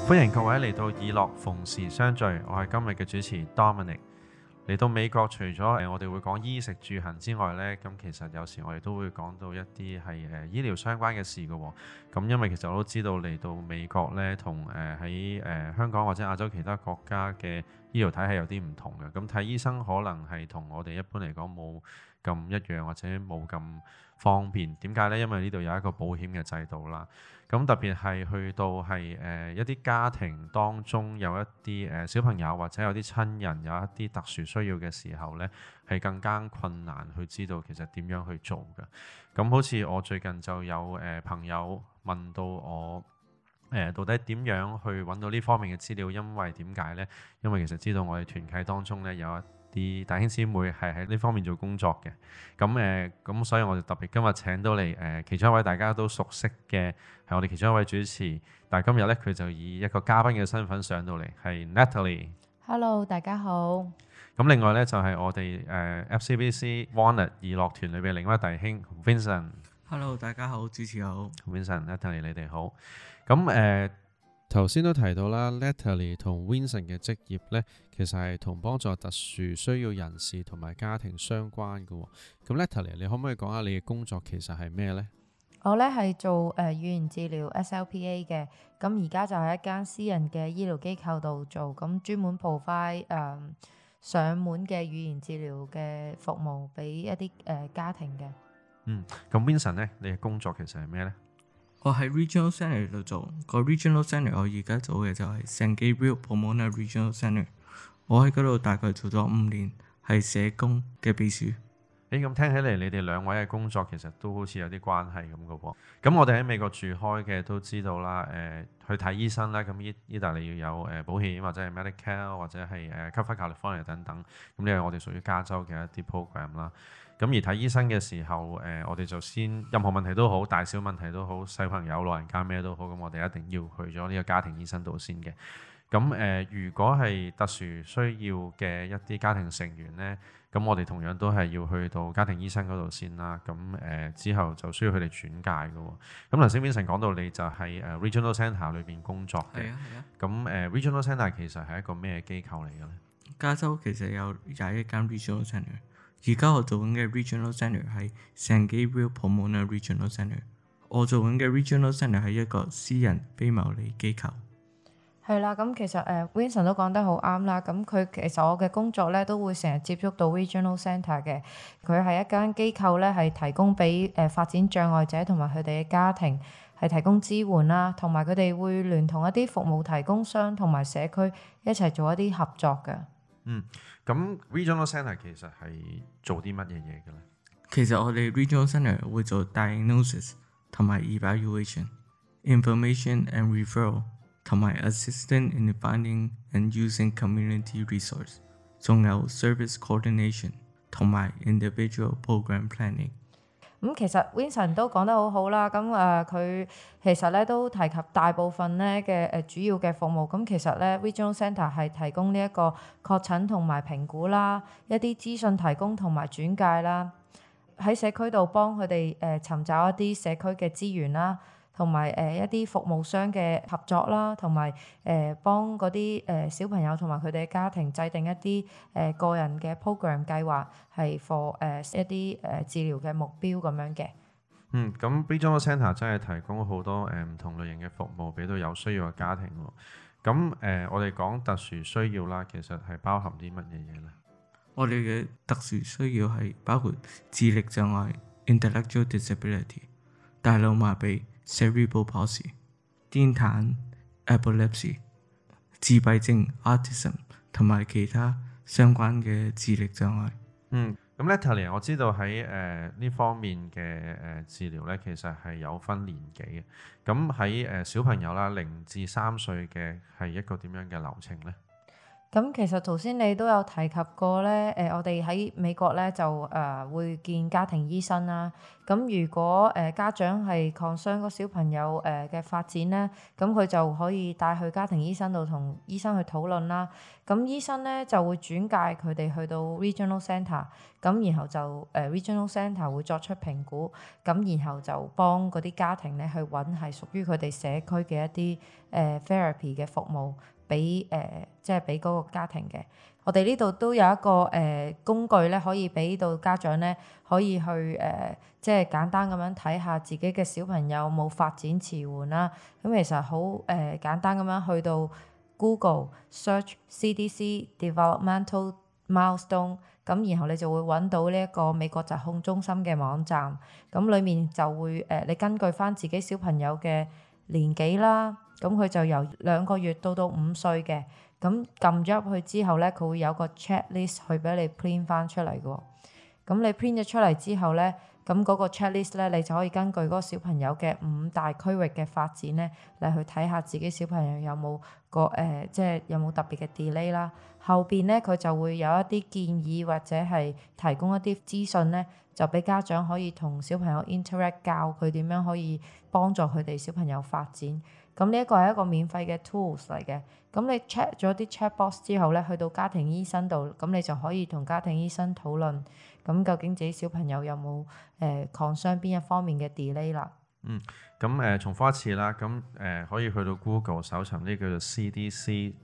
歡迎各位嚟到以樂逢時相聚，我係今日嘅主持 Dominic。嚟到美國，除咗我哋會講衣食住行之外呢，咁其實有時我哋都會講到一啲係醫療相關嘅事嘅。咁因為其實我都知道嚟到美國呢，同喺香港或者亞洲其他國家嘅醫療體系有啲唔同嘅。咁睇醫生可能係同我哋一般嚟講冇咁一樣，或者冇咁方便。點解呢？因為呢度有一個保險嘅制度啦。咁特別係去到係一啲家庭當中有一啲小朋友或者有啲親人有一啲特殊需要嘅時候呢，係更加困難去知道其實點樣去做嘅。咁好似我最近就有朋友問到我到底點樣去揾到呢方面嘅資料？因為點解呢？因為其實知道我哋團契當中呢，有一啲弟兄姊妹係喺呢方面做工作嘅。咁所以我就特別今日請到嚟其中一位大家都熟悉嘅係我哋其中一位主持，但係今日咧佢就以一個嘉賓嘅身份上到嚟，係 Natalie。Hello， 大家好。 咁另外咧就係我哋FCBC Walnut 義樂團裏邊另一位弟兄 Vincent。Hello， 大家好，主持好。 Vincent、Natalie 你哋好。咁頭先都提到啦 Natalie 同 Vincent 嘅職業咧，其實係同幫助特殊需要人士同埋家庭相關嘅。咁 Natalie， 你可唔可以講下你嘅工作其實係咩呢？ 我咧係做語言治療 SLPA 嘅，咁而家就喺一間私人嘅醫療機構度做，咁專門 provide 上門嘅語言治療嘅服務俾一啲家庭嘅。 咁 Vincent 咧，你嘅工作其實係咩呢？ 我喺 Regional Center 度做，個 Regional Center 我而家做嘅就係 San Gabriel Pomona Regional Center。我喺嗰度大概做咗5年，係社工嘅秘書。 咁聽起嚟，你哋兩位嘅工作其實都好似有啲關係咁嘅喎。咁我哋喺美國住開嘅都知道啦，去睇醫生啦，咁意大利要有保險或者係 Medicare 或者係Cover California 等等。咁呢個我哋屬於加州嘅一啲 program 啦。咁而睇醫生嘅時候，我哋就先任何問題都好，大小問題都好，細朋友、老人家咩都好，咁我哋一定要去咗呢個家庭醫生度先嘅。咁如果係特殊需要嘅一啲家庭成員呢，咁我哋同樣都係要去到家庭醫生嗰度先啦。咁之後就需要佢哋轉介嘅。咁頭先 Vincent 講到你就喺Regional Center 裏邊工作嘅。咁Regional Center 其實係一個咩機構嚟嘅呢？ 加州其實有21間 Regional Center。而家我做緊嘅 Regional Center 係 San Gabriel Pomona Regional Center。我做緊嘅 Regional Center 係一個私人非牟利機構。 係啦，咁其實Vincent 都講得好啱啦。咁其實我嘅工作咧都會成日接觸到 Regional Center 嘅。佢係一間機構咧，係提供俾發展障礙者同埋佢哋嘅家庭係提供支援啦，同埋佢哋會聯同一啲服務提供商同埋社區一齊做一啲合作嘅。 咁 Regional Center 其實係做啲乜嘢嘢嘅咧？ 其實我哋 Regional Center 會做 diagnosis 同埋 evaluation、information and referral 同埋 assistant in finding and using community resource， 仲有 service coordination 同埋 individual program planning。 其實 Vincent 都講得好好啦。佢其實咧都提及大部分咧嘅主要嘅服務。咁其實咧 Regional Center 係提供呢一個確診同埋評估啦，一啲資訊提供同埋轉介啦，喺社區度幫佢哋尋找一啲社區嘅資源啦，同埋一啲服務商嘅合作啦，同埋幫嗰啲小朋友同埋佢哋嘅家庭制定一啲個人嘅 program 計劃，係 for 一啲治療嘅目標咁樣嘅。 咁 Regional Center 真係提供好多唔同類型嘅服務俾到有需要嘅家庭喎。咁我哋講特殊需要啦，其實係包含啲乜嘢嘢咧？ 我哋嘅特殊需要係包括智力障礙 （intellectual disability）、大腦麻痹 cerebral palsy、癲癇 epilepsy、自閉症 autism 同埋其他相關嘅智力障礙。 咁 Natalie， 我知道喺呢方面嘅治療咧，其實係有分年紀嘅。咁喺小朋友啦，0至3歲嘅係一個點樣嘅流程咧？ 咁其實頭先你都有提及過咧，我哋喺美國咧就會見家庭醫生啦。咁如果家長係 concern 個小朋友嘅發展咧，咁佢就可以帶去家庭醫生度同醫生去討論啦。咁醫生咧就會轉介佢哋去到 regional centre，咁然後就regional centre 會作出評估，咁然後就幫嗰啲家庭咧去揾係屬於佢哋社區嘅一啲therapy 嘅服務。俾即係俾嗰個家庭嘅，我哋呢度都有一個工具咧，可以俾到家長咧，可以去即係簡單咁樣睇下自己嘅小朋友冇發展遲緩啦。咁其實好簡單咁樣去到 Google search CDC developmental milestone，咁然後你就會揾到呢一個美國疾控中心嘅網站，咁裡面就會你根據翻自己小朋友嘅年紀啦。咁佢就由2個月到5歲嘅，咁撳咗入去之後咧，佢會有個 checklist 去俾你 print 翻出嚟嘅。咁你 print 咗出嚟之後咧，咁嗰個 checklist 咧，你就可以根據嗰個小朋友嘅5大區域嘅發展咧，嚟去睇下自己小朋友有冇即係有冇特別嘅 delay 啦。後邊咧佢就會有一啲建議或者係提供一啲資訊咧，就俾家長可以同小朋友 interact， 教佢點樣可以幫助佢哋小朋友發展。咁呢一個係一個免費嘅 tools 嚟嘅。咁你 check 咗啲 check box 之後咧，去到家庭醫生度，咁你就可以同家庭醫生討論，咁究竟自己小朋友有冇concern 邊一方面嘅 delay 啦。 咁重複一次啦，咁可以去到 Google 搜尋呢叫做 CDC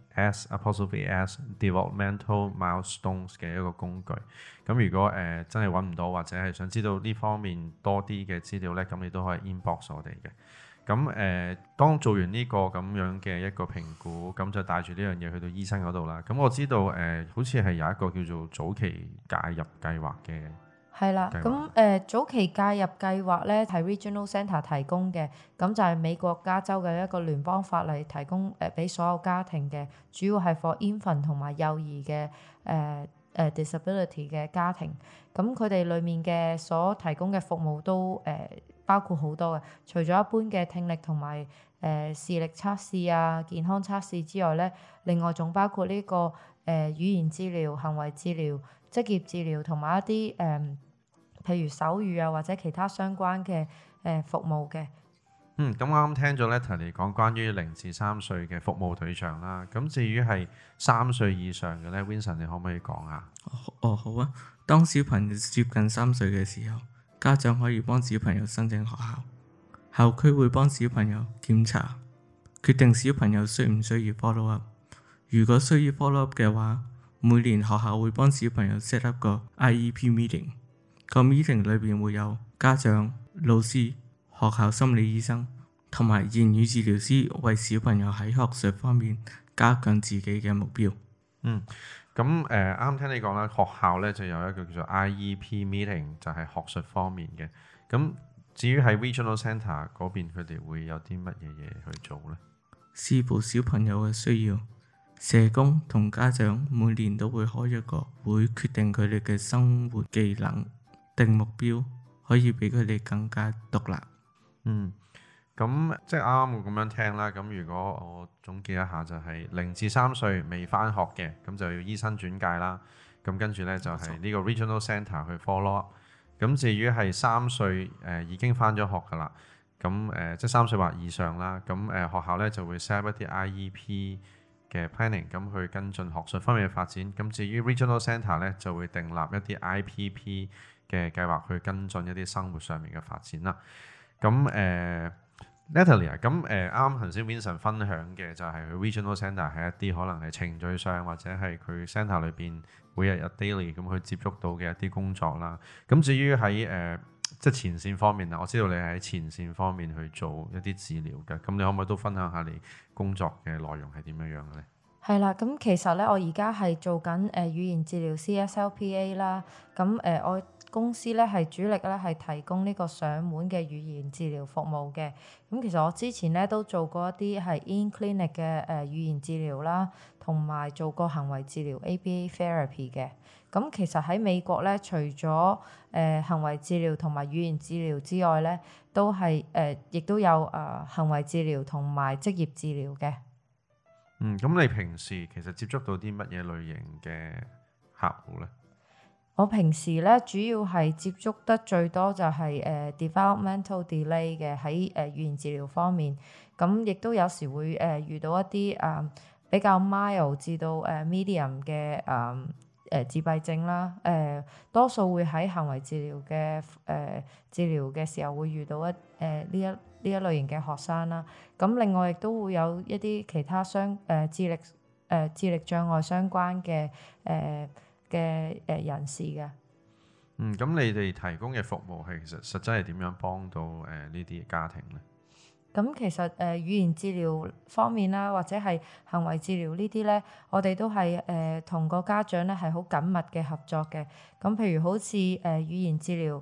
S developmental milestones 嘅一個工具。咁如果真係揾唔到或者係想知道呢方面多啲嘅資料咧，咁你都可以 inbox 我哋嘅。咁當做完呢個咁樣嘅一個評估，咁就帶住呢樣嘢去到醫生嗰度啦。咁我知道好似係有一個叫做早期介入計劃嘅。 係啦，咁早期介入計劃咧係 Regional Centre 提供嘅，咁就係美國加州嘅一個聯邦法例提供俾所有家庭嘅，主要係 for infant 同埋幼兒嘅disability 嘅家庭。咁佢哋裡面嘅所提供嘅服務都包括好多嘅，除咗一般嘅聽力同埋視力測試啊、健康測試之外咧，另外仲包括呢個語言治療、行為治療、職業治療同埋一啲譬如手語啊或者其他相關嘅服務嘅。 咁啱啱聽咗 Natalie 講關於0至3歲嘅服務對象啦。咁至於係3歲以上嘅咧 ，Vincent 你可唔可以講啊？ 好啊。當小朋友接近3歲嘅時候，家長可以幫小朋友申請學校，校區會幫小朋友檢查，決定小朋友需唔需要 follow up。如果需要 follow up 嘅話，每年學校會幫小朋友 set up 個 IEP meeting。個 meeting 裏邊會有家長、老師、學校心理醫生同埋言語治療師，為小朋友喺學術方面加強自己嘅目標。 咁啱聽你講啦，學校咧就有一個叫做 IEP meeting，就係學術方面嘅。咁至於喺 Regional Centre 嗰邊，佢哋會有啲乜嘢嘢去做呢？ 視乎小朋友嘅需要，社工同家長每年都會開一個會，決定佢哋嘅生活技能，定目標，可以俾佢哋更加獨立。 咁即係啱啱我咁樣聽啦。咁如果我總結一下，就係0至3歲未返學嘅，咁就要醫生轉介啦。咁跟住呢，就係呢個 Regional Centre 去 follow up。咁至於係3歲已經返咗學㗎啦，咁即係3歲或以上啦。咁學校呢就會 set up 一啲 IEP 嘅 planning，咁去跟進學術方面嘅發展。咁至於 Regional Centre 呢，就會訂立一啲 IPP 嘅計劃去跟進一啲生活上面嘅發展啦。咁Natalie 咁啱頭先 Vincent 分享嘅就係佢 Regional Centre 係一啲可能係程序上或者係佢 centre 裏邊每日有 daily 咁去接觸到嘅一啲工作啦。咁至於喺即係前線方面啊，我知道你係喺前線方面去做一啲治療嘅，咁你可唔可以都分享下你工作嘅內容係點樣樣嘅咧？ 係啦，咁其實咧我而家係做緊語言治療師 SLPA 啦，咁我公司咧係主力咧係提供呢個上門嘅語言治療服務嘅。咁其實我之前咧都做過一啲係 in clinic 嘅語言治療啦，同埋做過行為治療 ABA therapy 嘅。咁其實喺美國咧，除咗行為治療同埋語言治療之外咧，都係亦都有行為治療同埋職業治療嘅。 咁你平時其實接觸到啲乜嘢類型嘅客戶呢？ 我平時咧主要係接觸得最多就係developmental delay 嘅喺語言治療方面，咁亦都有時會遇到一啲比較 mild 至到medium 嘅自閉症啦，多數會喺行為治療嘅治療嘅時候會遇到呢一類型嘅學生啦。咁另外亦都會有一啲其他智力障礙相關嘅人士嘅。 咁你哋提供嘅服務係其實實際係點樣幫到呢啲家庭呢？ 咁其實語言治療方面啦，或者係行為治療呢啲咧，我哋都係同個家長咧係好緊密嘅合作嘅。咁譬如好似語言治療、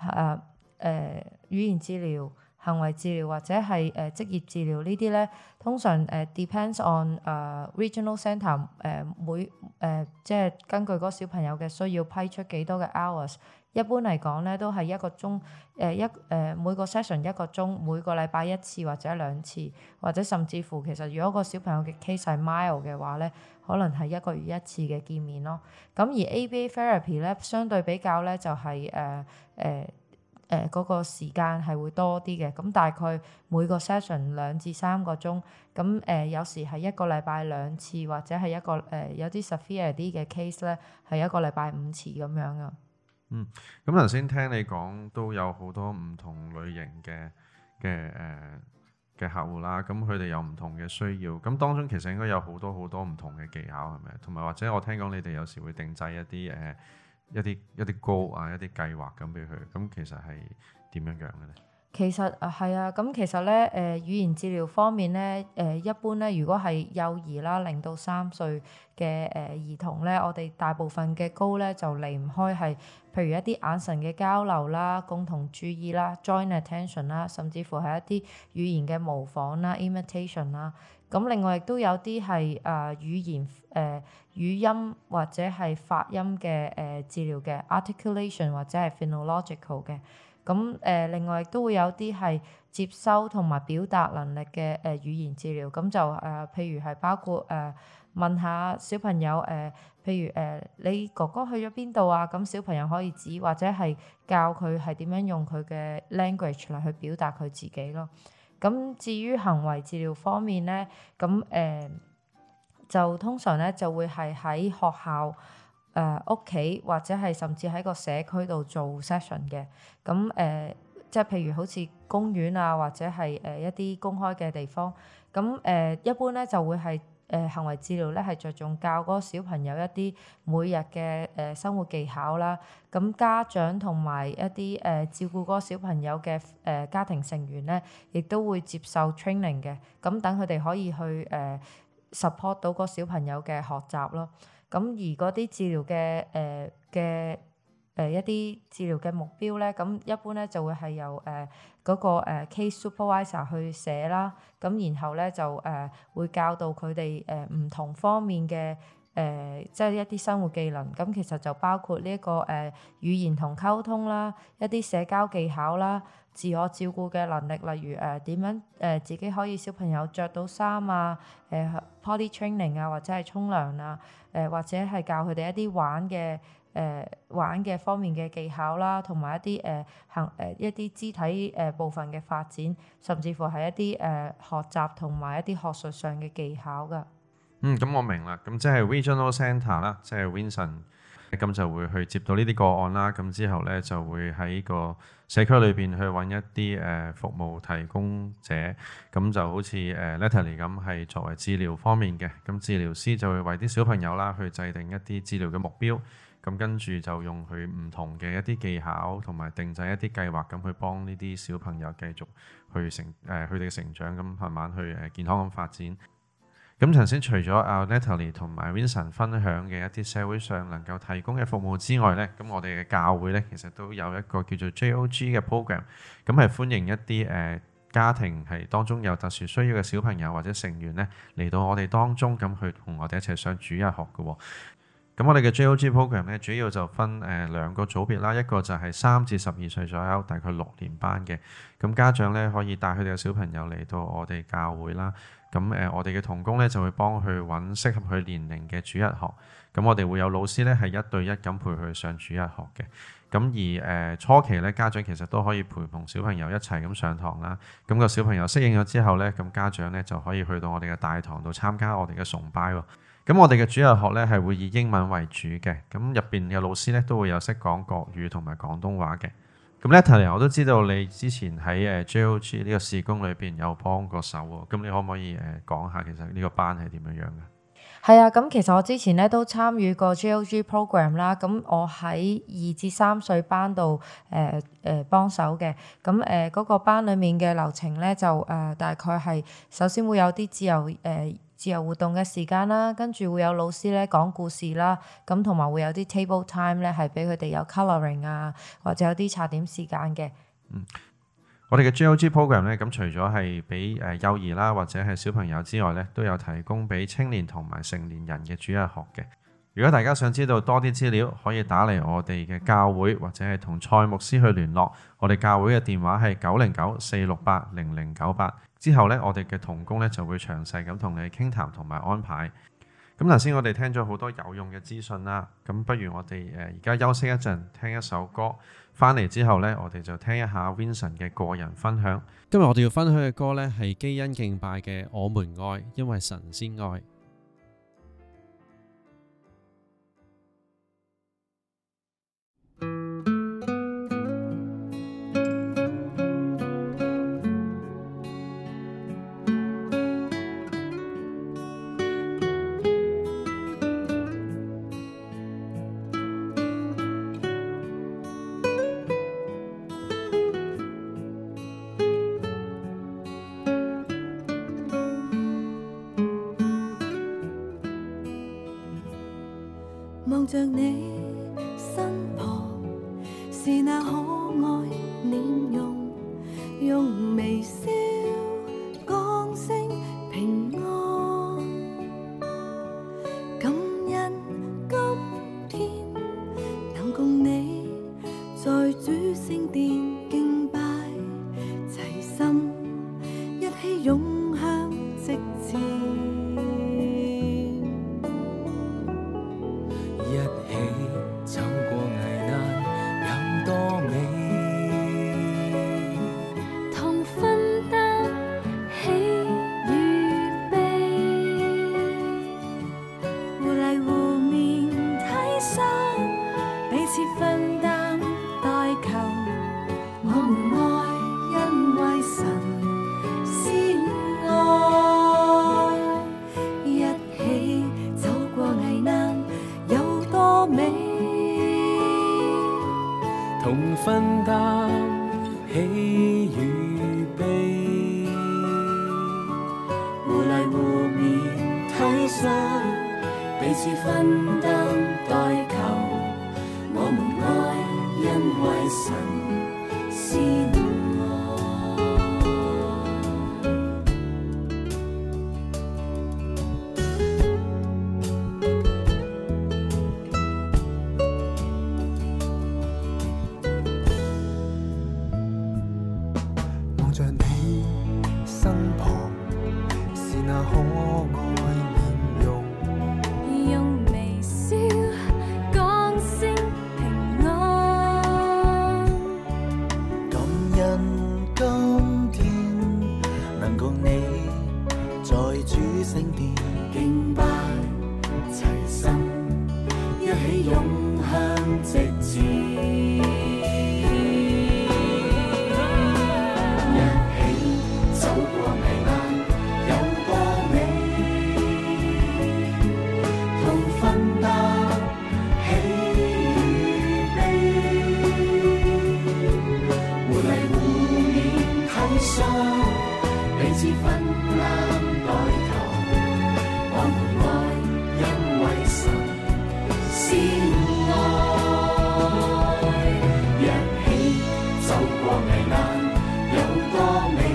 行為治療或者係職業治療呢啲咧，通常depends on regional centre 即係根據嗰個小朋友嘅需要批出幾多嘅 hours。一般嚟講咧，都係一個鐘每個 session 一個鐘，每個禮拜1次或者2次，或者甚至乎其實如果個小朋友嘅 case 係 mild 嘅話咧，可能係1個月1次嘅見面咯。咁而 ABA therapy 咧，相對比較咧就係嗰個時間係會多啲嘅，咁大概每個 session 2至3個鐘，咁有時係1個禮拜2次，或者係有啲 severe 啲嘅 case 咧，係1個禮拜5次咁樣啊。 咁頭先聽你講都有好多唔同類型嘅客戶啦，咁佢哋有唔同嘅需要，咁當中其實應該有好多唔同嘅技巧係咪？同埋或者我聽講你哋有時會定製一啲goal啊，一啲計劃咁俾佢，咁其實係點樣嘅咧？其實係啊，咁其實咧語言治療方面咧一般咧，如果係幼兒啦0到3歲嘅兒童咧，我哋大部分嘅goal咧就離唔開係譬如一啲眼神嘅交流啦、共同注意啦、joint attention 啦，甚至乎係一啲語言嘅模仿啦、imitation 啦。咁另外亦都有啲係語音或者係發音嘅治療嘅 articulation 或者係 phonological 嘅。咁另外亦都會有啲係接收同埋表達能力嘅語言治療，咁就譬如係包括問下小朋友譬如你哥哥去咗邊度啊？咁小朋友可以指，或者係教佢係點樣用佢嘅 language 嚟去表達佢自己咯。咁至於行為治療方面咧，咁就通常咧就會係喺學校、屋企或者係甚至喺個社區度做 session 嘅。咁即係譬如好似公園啊，或者係一啲公開嘅地方。咁一般咧就會係行為治療咧係着重教嗰個小朋友一啲每日嘅生活技巧啦。咁家長同埋一啲照顧嗰個小朋友嘅家庭成員咧，亦都會接受 training 嘅。咁等佢哋可以去support 到個小朋友嘅學習咯。咁而嗰啲治療嘅一啲治療嘅目標咧，咁一般咧就會係由嗰個case supervisor 去寫啦。咁然後咧就會教導佢哋唔同方面嘅即係一啲生活技能。咁其實就包括呢一個語言同溝通啦，一啲社交技巧啦，自我照顧嘅能力，例如點樣自己可以小朋友着到衫啊，potty training 啊，或者係沖涼啊，或者係教佢哋一啲玩嘅方面嘅技巧啦，同埋一啲一啲肢體部分嘅發展，甚至乎係一啲學習同埋一啲學術上嘅技巧㗎。 咁我明啦，咁即係 Regional Centre 啦，即係 Vincent，咁就會去接到呢啲個案啦，咁之後咧就會喺個社區裏邊去揾一啲服務提供者，咁就好似Natalie 咁係作為治療方面嘅，咁治療師就會為啲小朋友啦去制定一啲治療嘅目標，咁跟住就用佢唔同嘅一啲技巧同埋定製一啲計劃，咁去幫呢啲小朋友繼續去佢哋嘅成長，咁慢慢去健康咁發展。咁頭先除咗Natalie 同埋 Vincent 分享嘅一啲社會上能夠提供嘅服務之外咧，咁我哋嘅教會咧其實都有一個叫做 JOG 嘅 program，咁係歡迎一啲家庭係當中有特殊需要嘅小朋友或者成員咧嚟到我哋當中，咁去同我哋一齊上主日學嘅。咁我哋嘅 JOG program 咧主要就分2個組別啦，一個就係3至12歲左右，大概6年班嘅，咁家長咧可以帶佢哋嘅小朋友嚟到我哋教會啦。 咁我哋嘅同工呢就會幫佢揾適合佢年齡嘅主日學。咁我哋會有老師呢係1對1咁陪佢上主日學嘅。咁而初期呢，家長其實都可以陪同小朋友一齊咁上堂啦。咁個小朋友適應咗之後呢，咁家長呢就可以去到我哋嘅大堂度參加我哋嘅崇拜喎。咁我哋嘅主日學呢係會以英文為主嘅。咁入邊嘅老師呢都會有識講國語同埋廣東話嘅。咁 Natalie， 我都知道你之前喺JOG 呢個事工裏邊有幫過手喎，咁你可唔可以講下其實呢個班係點樣樣嘅？ 係啊，咁其實我之前咧都參與過 JOG program 啦，咁我喺2至3歲班度幫手嘅，咁嗰個班裡面嘅流程咧就大概係首先會有啲自由活動嘅時間啦，跟住會有老師咧講故事啦，咁同埋會有啲 table time 咧係俾佢哋有 colouring 啊，或者有啲茶點時間嘅。 我哋嘅 JOG program 咧，咁除咗係俾幼兒啦或者係小朋友之外咧，都有提供俾青年同埋成年人嘅主日學嘅。如果大家想知道多啲資料，可以打嚟我哋嘅教會或者係同蔡牧師去聯絡。我哋教會嘅電話係909-468-0098。之後咧，我哋嘅同工咧就會詳細咁同你傾談同埋安排。咁頭先我哋聽咗好多有用嘅資訊啦，咁不如我哋而家休息一陣，聽一首歌。翻嚟之後呢，我哋就聽一下 Vincent 嘅個人分享。今日我哋要分享嘅歌呢，係基恩敬拜嘅《我們愛》，因為神先愛。 望着你身旁，是那可愛臉容，用微笑講聲平安。感恩今天能共你在主聖殿敬拜，齊心一起湧向直前。 同分擔喜與悲，互勵互勉體恤，彼此分擔代求。我們愛，因為神先愛。 在你身旁，是那可愛面容， 用微笑講聲平安。 感恩今天能共你在主聖殿敬拜，齊心一起湧向直前。 彼此分擔代求，我們愛，因為神先愛。一起走過危難有多美，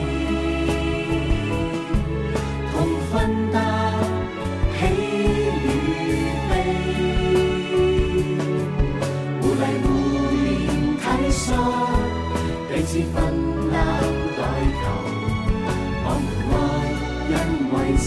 同分擔喜與悲，互勵互勉體恤，彼此分擔代求。我們愛，因為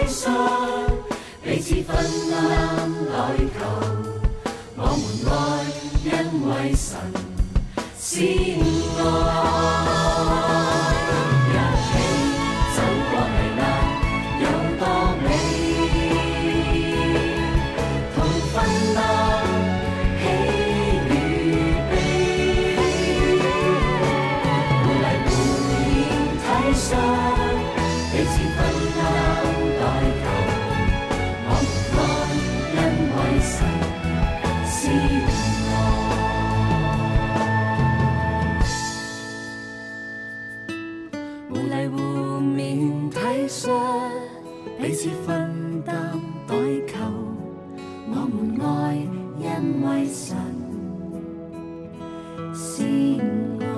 恤，彼此分擔代求。我們愛，因為神是愛。一起走過危難，有多美，同分擔喜與悲，互勵互勉體恤，彼此分擔代求。我們愛，因為神是愛。互勵互勉體恤，彼此分擔代求。我們愛，因為神是愛。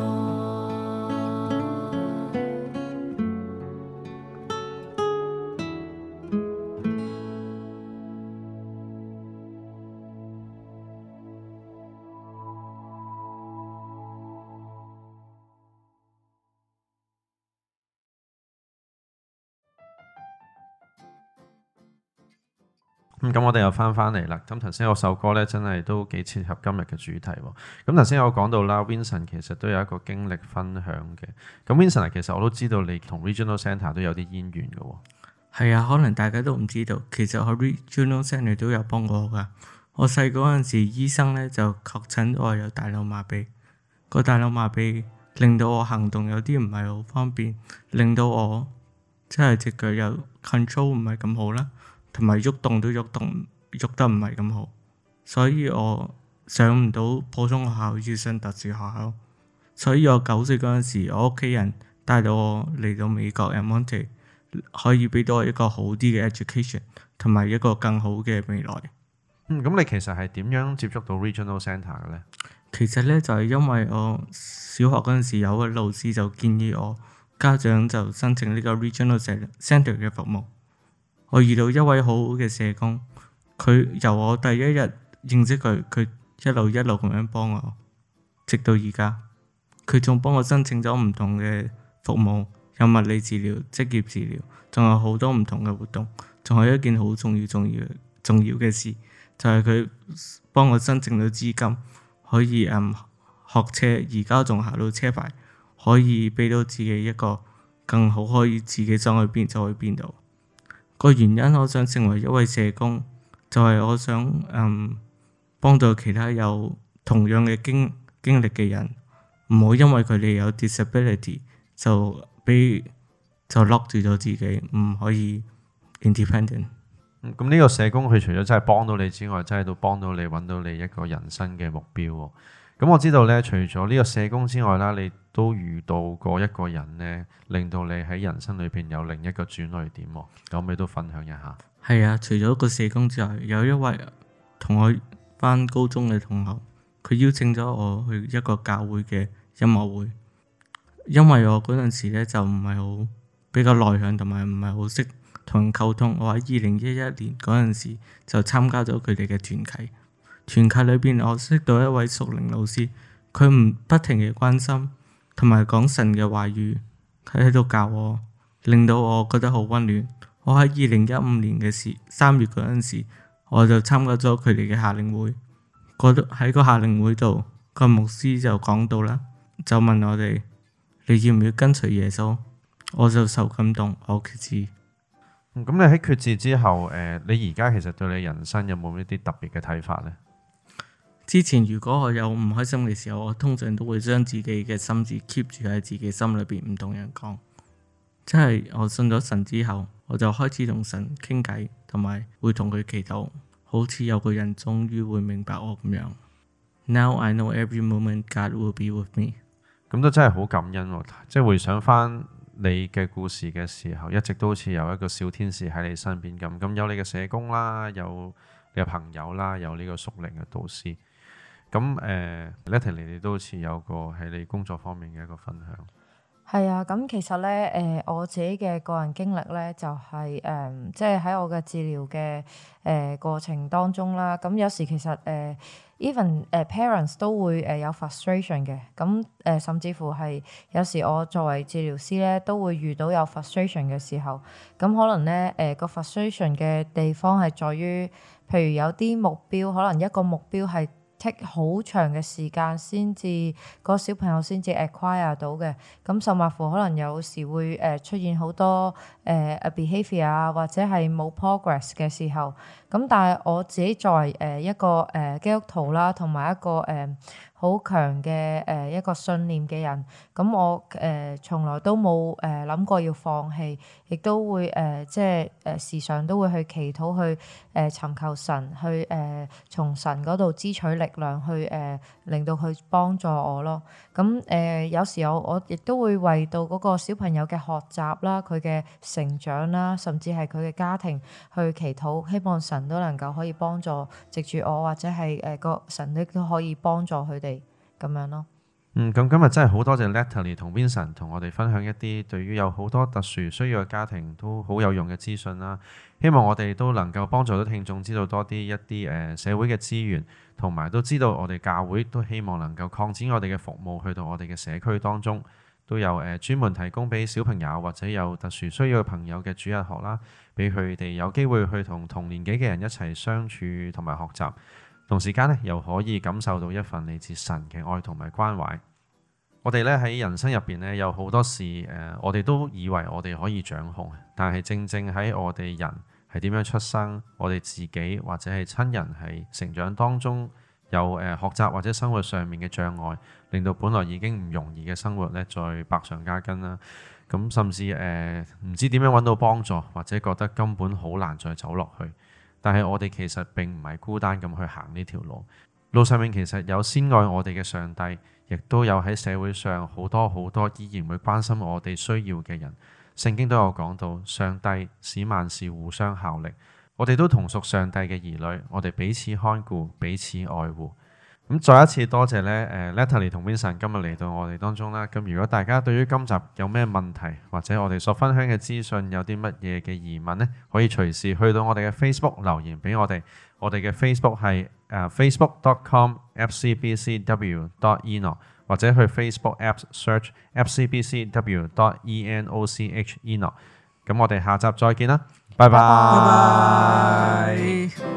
咁我哋又翻嚟啦。咁頭先嗰首歌咧，真係都幾切合今日嘅主題喎。咁頭先有講到啦，Vincent 其實都有一個經歷分享嘅。咁 Vincent 其實我都知道你同 Regional Centre 都有啲淵源嘅喎。 係啊，可能大家都唔知道，其實我 Regional Centre 都有幫過我㗎。我細個嗰陣時，醫生咧就確診我有大腦麻痹。個大腦麻痹令到我行動有啲唔係好方便，令到我即係隻腳有 control 唔係咁好啦。同埋喐動都喐得唔係咁好，所以我上唔到普通學校，要上特殊學校。所以我9歲嗰陣時，我屋企人帶到我嚟到美國 Monte， 可以俾到我一個好啲嘅 education， 同埋一個更好嘅未來。 咁你其實係點樣接觸到 Regional Centre 嘅咧？ 其實咧就係因為我小學嗰陣時有個老師就建議我家長就申請呢個 Regional Centre 嘅服務。我遇到一位好好嘅社工，佢由我第一日認識佢，佢一路咁樣幫我，直到而家。佢仲幫我申請咗唔同嘅服務，有物理治療、職業治療，仲有好多唔同嘅活動。仲有一件好重要嘅事，就係佢幫我申請到資金，可以學車，而家仲考到車牌，可以俾到自己一個更好，可以自己想去邊就去邊度。個原因我想成為一位社工，就係我想幫助其他有同樣嘅經歷嘅人，唔好因為佢哋有 disability 就 lock 住咗自己，唔可以 independent。 咁呢個社工佢除咗真係幫到你之外，真係都幫到你揾到你一個人生嘅目標喎。咁我知道咧，除咗呢個社工之外啦，你都遇到過一個人咧，令到你喺人生裏邊有另一個轉捩點喎。可唔可以都分享一下？ 係啊，除咗個社工之外，有一位同我返高中嘅同學，佢邀請咗我去一個教會嘅音樂會。因為我嗰陣時咧就唔係好比較內向，同埋唔係好識同人溝通。我喺2011年嗰陣時就參加咗佢哋嘅團契。團契裏邊，我識到一位屬靈老師，佢不停嘅關心同埋講神嘅話語，佢喺度教我，令到我覺得好溫暖。我喺2015年嘅3月嗰陣時，我就參加咗佢哋嘅夏令會。喺個夏令會度，個牧師就講到啦，就問我哋：你要唔要跟隨耶穌？我就受感動，我決志。 咁你喺決志之後，你而家其實對你人生有冇一啲特別嘅睇法呢？ 之前如果我有唔開心嘅時候，我通常都會將自己嘅心事 keep 住喺自己心裏邊，唔同人講。即係我信咗神之後，我就開始同神傾偈，同埋會同佢祈禱，好似有個人終於會明白我咁樣。Now I know every moment God will be with me。 咁都真係好感恩喎！即係回想翻你嘅故事嘅時候，一直都好似有一個小天使喺你身邊咁。咁有你嘅社工啦，有你嘅朋友啦，有呢個屬靈嘅導師。咁Letty，你都好似有個喺你工作方面嘅一個分享。 係啊，咁其實咧，我自己嘅個人經歷咧，就係即係喺我嘅治療嘅過程當中啦。咁有時其實even parents 都會有 frustration 嘅。咁甚至乎係有時我作為治療師咧，都會遇到有 frustration 嘅時候。咁可能咧個 frustration 嘅地方係在於，譬如有啲目標，可能一個目標係take 好長嘅時間先至個小朋友先至 acquire 到嘅，咁甚至乎可能有時會出現好多behaviour 啊，或者係冇 progress 嘅時候，咁但係我自己作為一個基督徒啦，同埋一個好強嘅一個信念嘅人，咁我從來都冇諗過要放棄，亦都會即係時常都會去祈禱，去尋求神，去從神嗰度支取力量，去令到佢幫助我咯。咁有時候我亦都會為到嗰個小朋友嘅學習啦，佢嘅成長啦，甚至係佢嘅家庭去祈禱，希望神都能夠可以幫助藉住我，或者係個神都可以幫助佢哋咁樣咯。 咁今日真係好多謝 Natalie 同 Vincent 同我哋分享一啲對於有好多特殊需要嘅家庭都好有用嘅資訊啦。希望我哋都能夠幫助到聽眾知道多啲一啲社會嘅資源，同埋都知道我哋教會都希望能夠擴展我哋嘅服務去到我哋嘅社區當中，都有專門提供俾小朋友或者有特殊需要嘅朋友嘅主日學啦，俾佢哋有機會去同年紀嘅人一齊相處同埋學習，同時間咧又可以感受到一份嚟自神嘅愛同埋關懷。我哋咧喺人生入邊咧有好多事我哋都以為我哋可以掌控，但係正正喺我哋人係點樣出生，我哋自己或者係親人係成長當中有學習或者生活上面嘅障礙，令到本來已經唔容易嘅生活咧再百上加斤啦。咁甚至唔知點樣揾到幫助，或者覺得根本好難再走落去。但係我哋其實並唔係孤單咁去行呢條路，路上面其實有先愛我哋嘅上帝，亦都有喺社會上好多好多依然會關心我哋需要嘅人。聖經都有講到，上帝使萬事互相效力，我哋都同屬上帝嘅兒女，我哋彼此看顧，彼此愛護。咁再一次多謝咧Natalie 同 Vincent 今日嚟到我哋當中啦。咁如果大家對於今集有咩問題，或者我哋所分享嘅資訊有啲乜嘢嘅疑問呢，可以隨時去到我哋嘅 Facebook 留言俾我哋。我哋嘅 Facebook 係facebook.com/fcbcw.eno， 或者去 Facebook Apps search fcbcw.enoch eno。咁我哋下集再見啦，拜拜。